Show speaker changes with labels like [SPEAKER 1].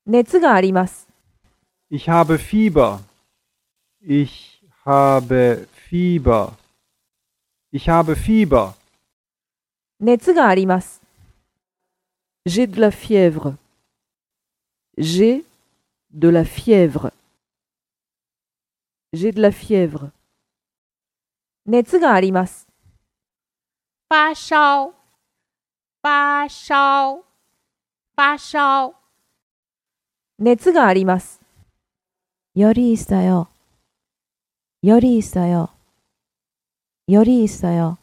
[SPEAKER 1] 熱があります。
[SPEAKER 2] Ich habe Fieber. Ich habe Fieber. Ich habe Fieber.
[SPEAKER 1] 熱があります。J'ai de la fièvre. J'ai de la fièvre. J'ai de la fièvre. 熱があります。
[SPEAKER 3] 发烧，发烧，发烧。
[SPEAKER 1] 熱があります。
[SPEAKER 4] 열이 있어요. 열이 있어요. 열이 있어요.